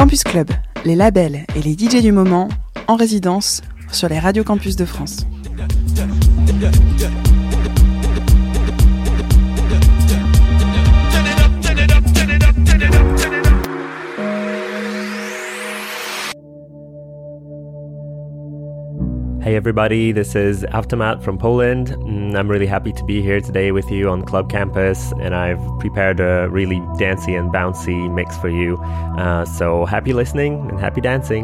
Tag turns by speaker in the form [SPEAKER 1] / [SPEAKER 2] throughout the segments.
[SPEAKER 1] Campus Club, les labels et les DJ du moment en résidence sur les radios campus de France.
[SPEAKER 2] Hey everybody, this is Aftermath from Poland. I'm really happy to be here today with you on Club Campus, and I've prepared a really dancey and bouncy mix for you. So happy listening and happy dancing.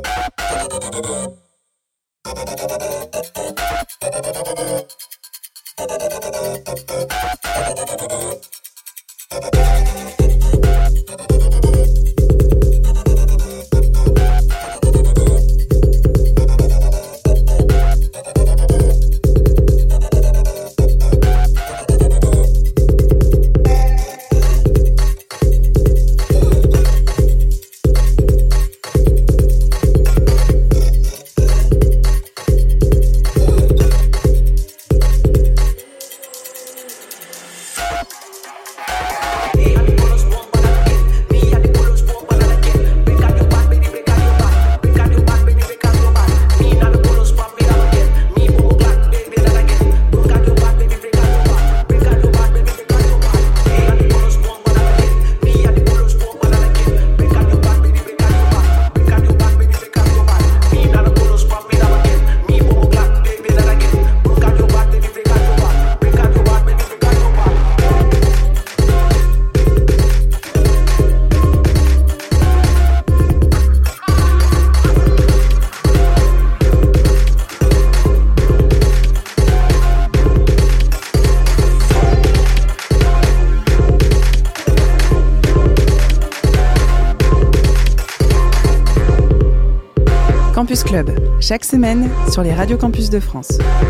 [SPEAKER 1] Campus Club, chaque semaine sur les radios campus de France.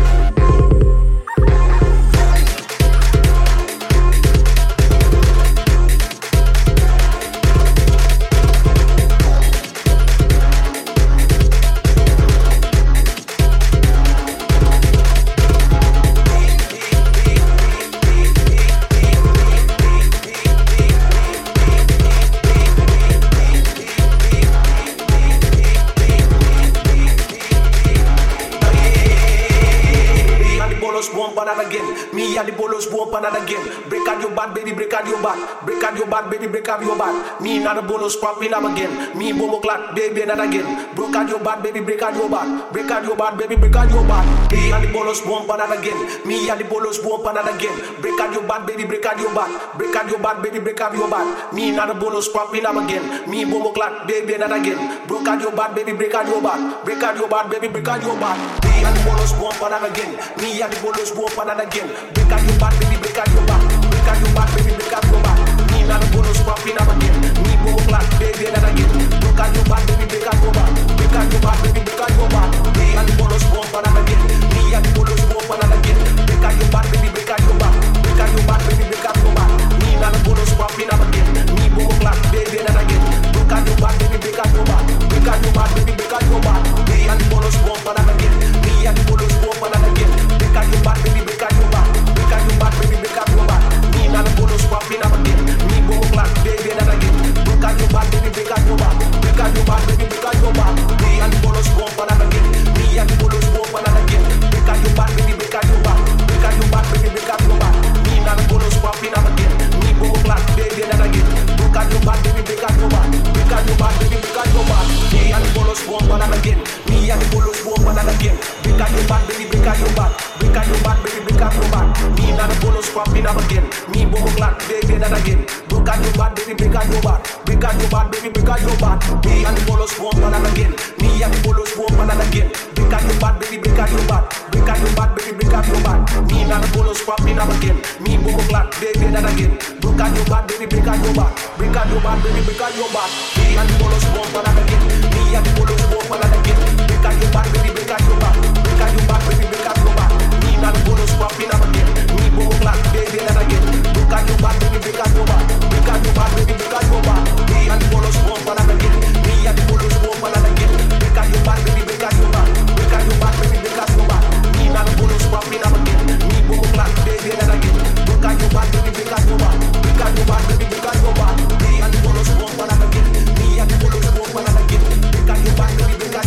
[SPEAKER 3] Me and the bolos bump another again. Break out your bad, baby, break out your bad. Break out your bad, baby, break out your bad. Me and the bolos popping up again. Me bomo clat, baby, another again. Break out your bad, baby, break out your bad. Break out your bad, baby, break out your bad. Me and the bolos bump another again. Me and the bolos bump another again. Break out your bad, baby, break out your bad. Break out your bad, baby, break out your bad. Me and the bolos popping up again. Me bomo clat, baby, another again. Break out your bad, baby, break out your bad. Break out your bad, baby, break out your bad. Me and the bolos bump another again. Me and the bolos bump another again. Break out your bad, baby, break out your back. Break out your back, baby, break out your back. Me and the bonus popping up again. Me boom clap, baby, and again. Break out your back, baby, break out your back. Break out your back, baby, break out your back. Me and the bonus bump and again. Me and the bonus bump and again. Break out your back, baby, break out your back. Break out your back, baby, break out your back. Me and the bonus popping up again. Me boom clap, baby, and again. Break out your back, baby, break out your back. Break out your back, baby, break out your back. Me and the bonus bump and again. Me and the bonus bump and again. Break out your back, baby, break out your back. Break out your back, baby, break out your back. Me and the bonus popping up again. Me boom clap, baby, and again. Break out your back, baby, break out your back. Break out your back, baby, break out your back. Me and the bonus bump and again. Me and the bonus bump and again. Break out your back, baby, break out your back. Break out your back, baby, break out your back. Me and the bonus popping up again. Me boom clap, baby, and again. Break out your back, baby, break out your back. Break out your back, baby, break out your back. Me and the bonus bump and again. Me and the bonus bump and again. Break out your back, baby, break out your back. Break out your back, baby, break out your back. Me and the bonus popping up again. Me boom clap, baby, and again. Break out your back, baby, break out your back. Break out your back, baby, break out your back. Me and the bonus bump and again. Me and the bonus bump and again. Break out your back, baby, break out your back. Break out your back, baby, break out your back. Me and the bonus popping up again. Me boom clap, baby, and again. Break out your back, baby, break out your back. Break out your back, baby, break out your back. Me and the bonus bump and again. Me and the bonus bump and again. Break out your back, baby, break out your back. Break out your back, baby, break out your back. Me and the bonus popping up again. Me boom clap, baby, and again. Break out your back, baby, break out your back. Break out your back, baby, break out your back. Me and the bonus bump and again. Me and the bonus bump and again. Break out your back, baby, break out your back. Break out your back, baby, break out your back. Me and the bonus popping up again. Me boom clap, baby, and again. Break out your back, baby, break out your back. Break out your back, baby, break out your back. Me and the bonus bump and again. Me and the bonus bump and again. Break out your back, baby, break out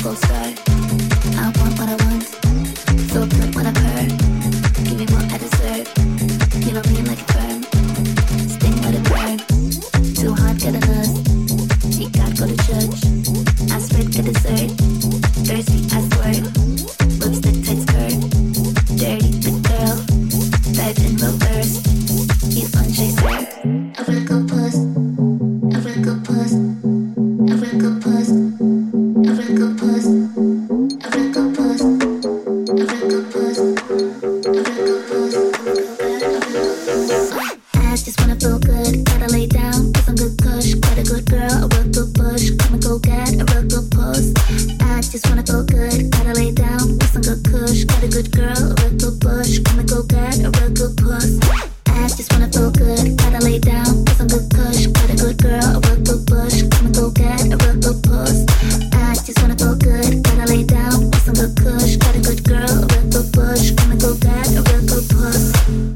[SPEAKER 4] gold star. I want what I want, so good when I purr. Give me what I deserve. You know me like a firm. Sting, let it burn. Too hot, get a nurse. See God, go to church. I spread, get dessert. Thirsty, I squirt. Lipstick, tight skirt. Dirty, thick girl. Dive in reverse. Eat lunch, I serve. A real good puss. A real good puss. A real good puss. A real good puss. A real good puss. A real good puss. A real good puss. I just wanna feel good. Gotta lay down with some good kush. Quite a good girl, a real good push. Come and go get a real good puss. I just wanna feel good. Gotta lay down with some good kush. Got a good girl, a real good push. Come and go get a real good puss. I just wanna feel good. Gotta lay down with some good kush. Got a good girl, a real good push. Come and go get a real good puss. I just wanna feel good. Gotta lay down with some good kush. Got a good girl, a real good push. Come and go get a real good puss.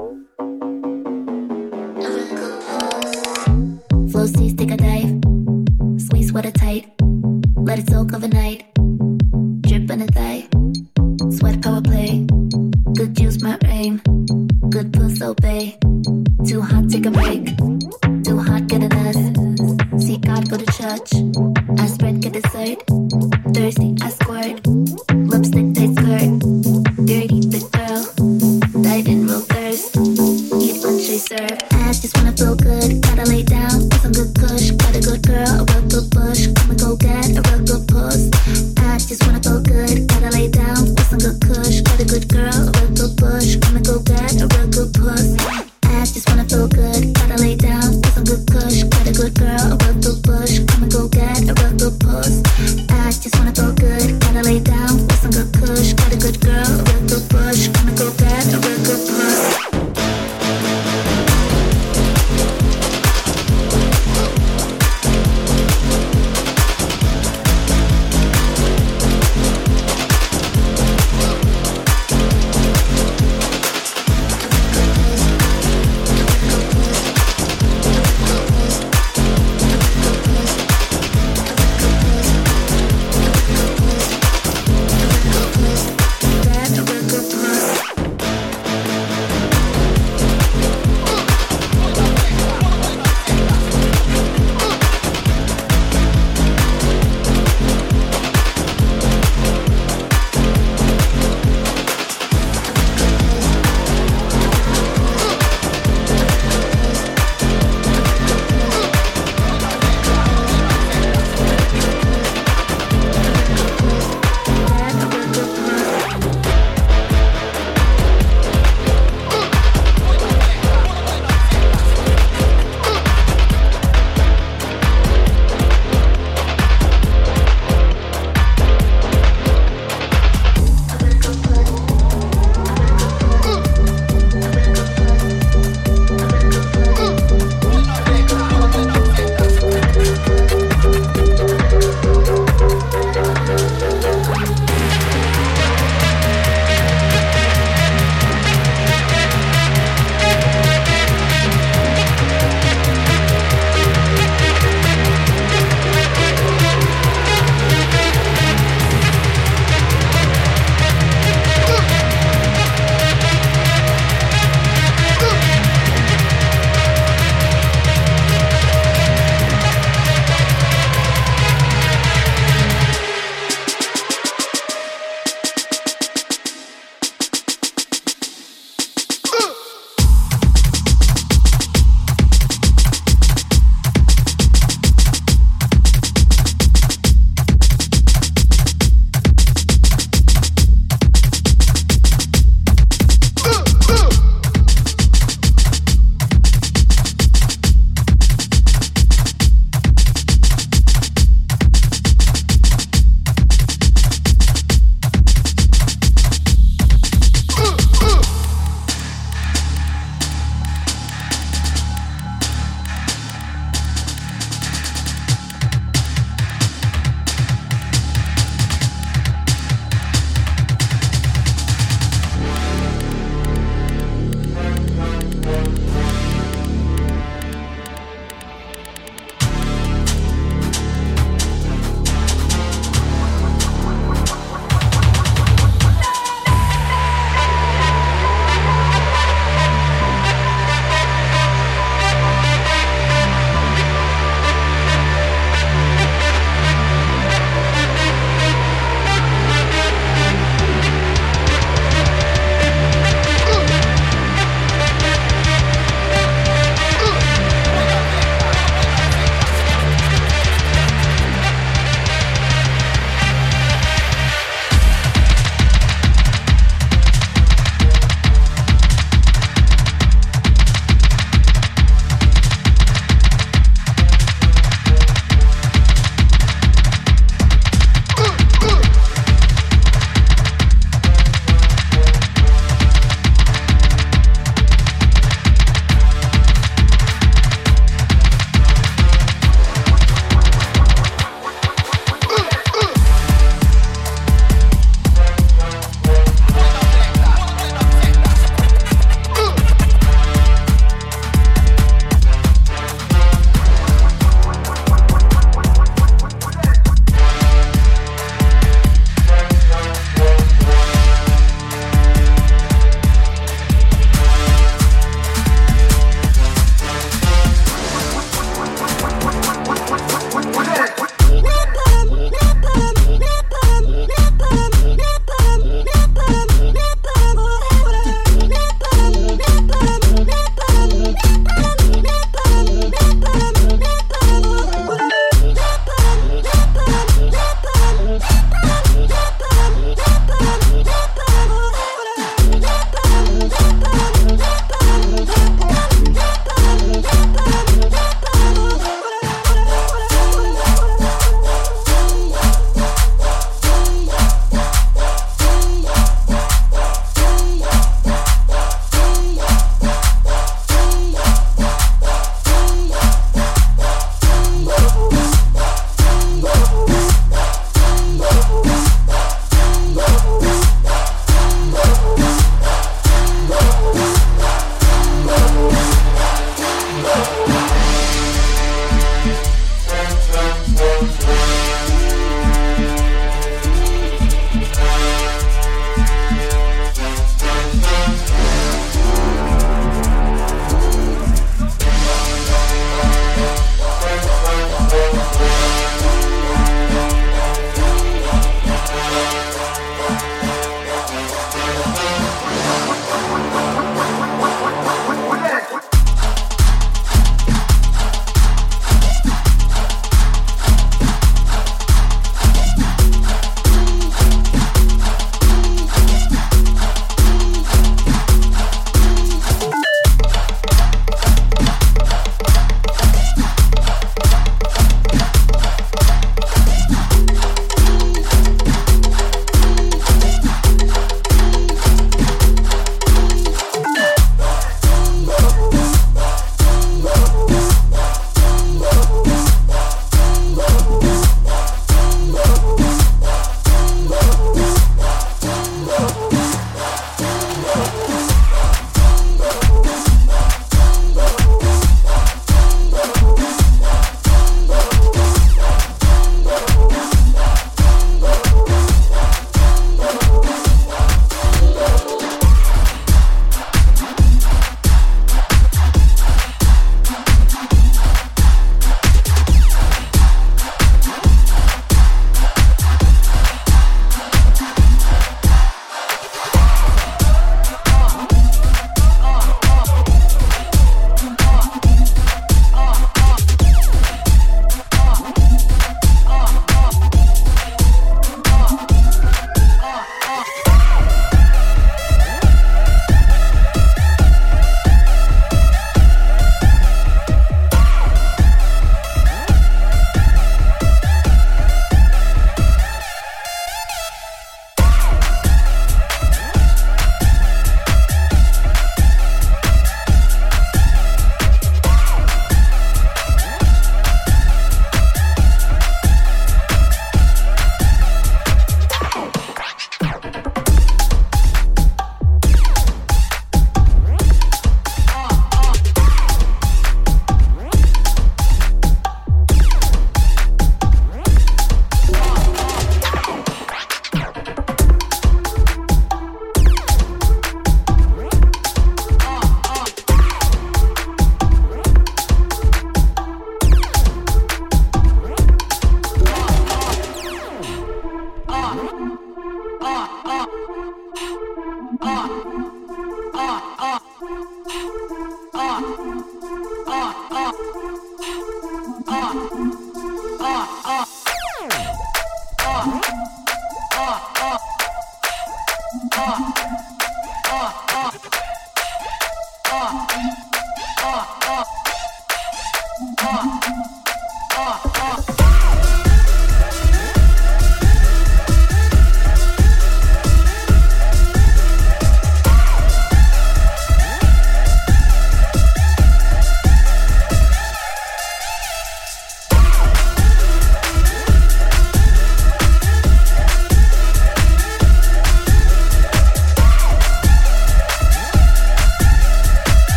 [SPEAKER 4] A real good puss. Flow seas, take a dive. Squeeze sweater tight. Let it soak overnight. Drip in the thigh. Sweat power play. Good juice, my aim. Good puss, obey. Too hot, take a break. Too hot, get a nurse. See God, go to church. I spread, get dessert. Thirsty, I squirt. Lipstick, tight skirt. Dirty, thick girl. Dive in real thirst. Eat lunch, I serve. I just wanna feel good. Gotta lay down with some good kush. Got a good girl, a real good push. Come and go get a real good puss. I just wanna feel good. Gotta lay down with some good kush. Got a good girl, a real good push. Come and go get a real good puss. I just wanna feel good. Gotta lay down with some good kush. Got a good girl, a real good push. Come and go get a real good puss. I just wanna feel good. Gotta lay down with some good kush. Got a good girl, a real good push. Come and go get a real good puss.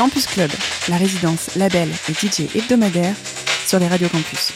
[SPEAKER 1] Campus Club, la résidence, label et DJ hebdomadaire sur les radios campus.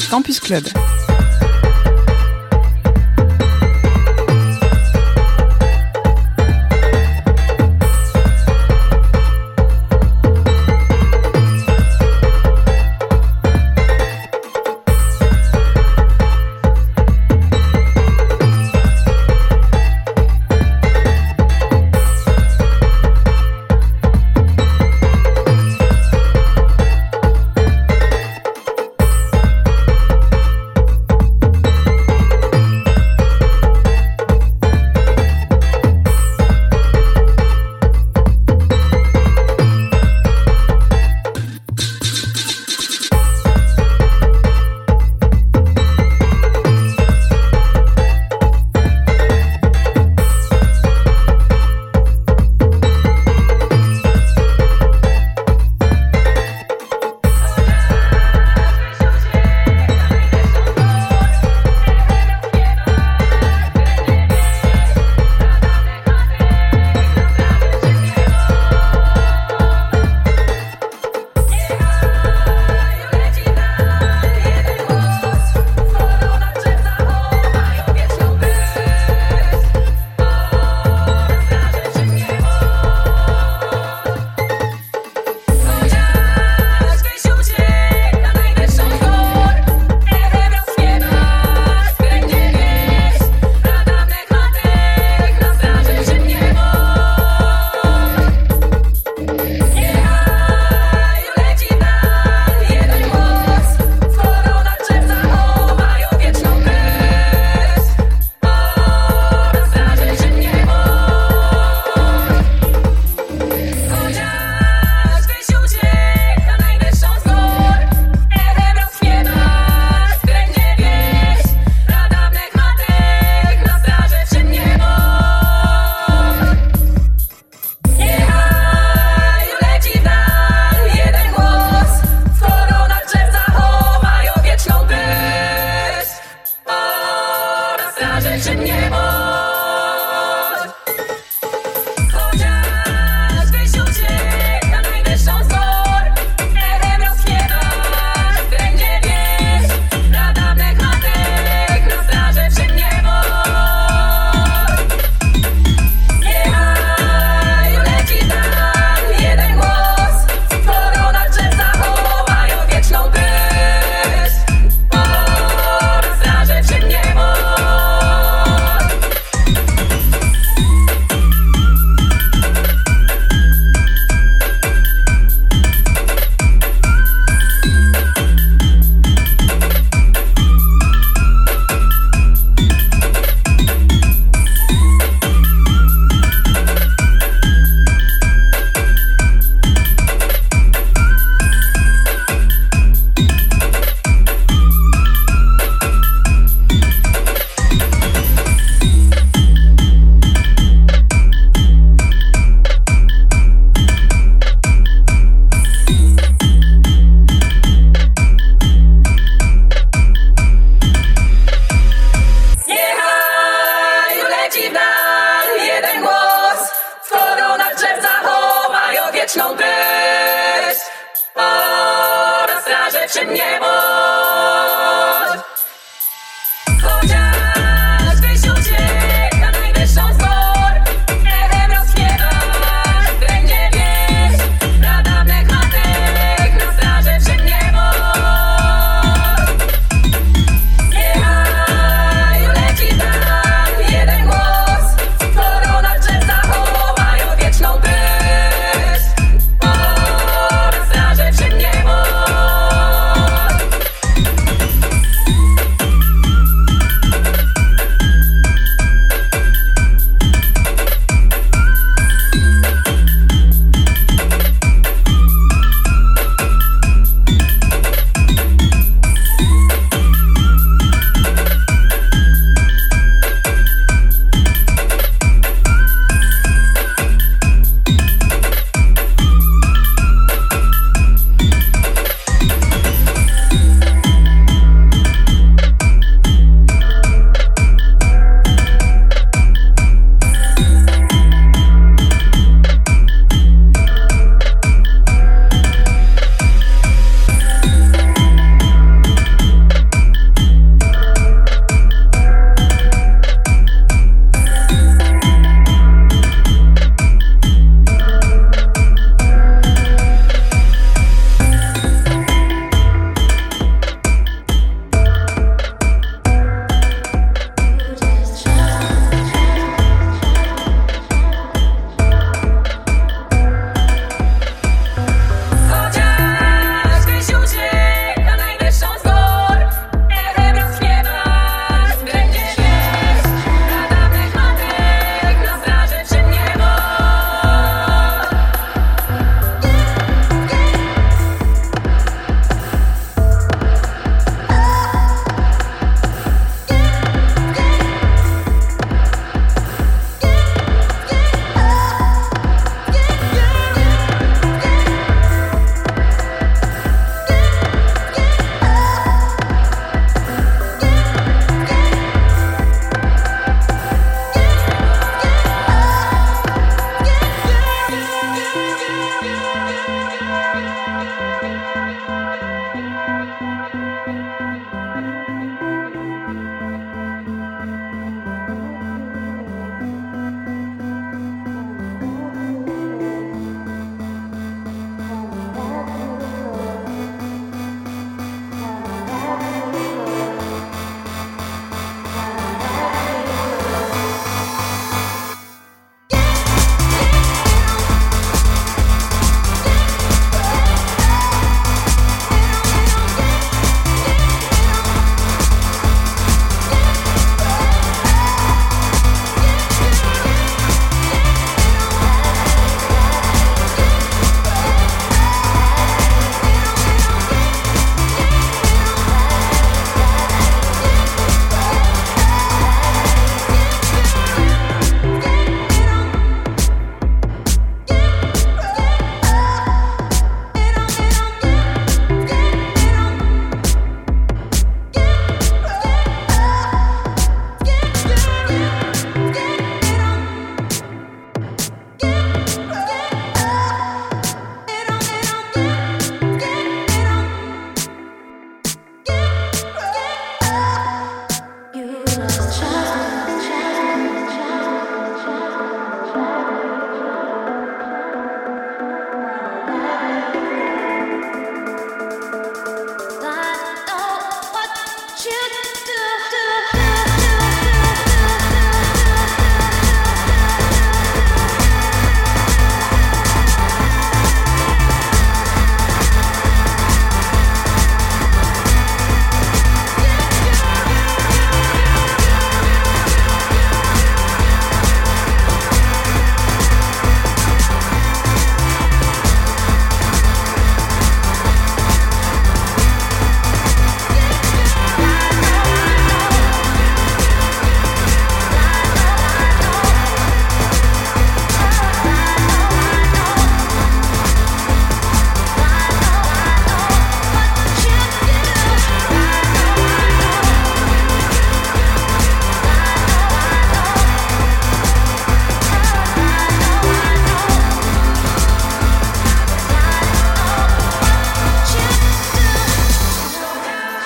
[SPEAKER 1] Campus Club.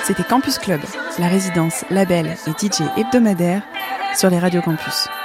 [SPEAKER 1] C'était Campus Club, la résidence, label et DJ hebdomadaire sur les radios campus.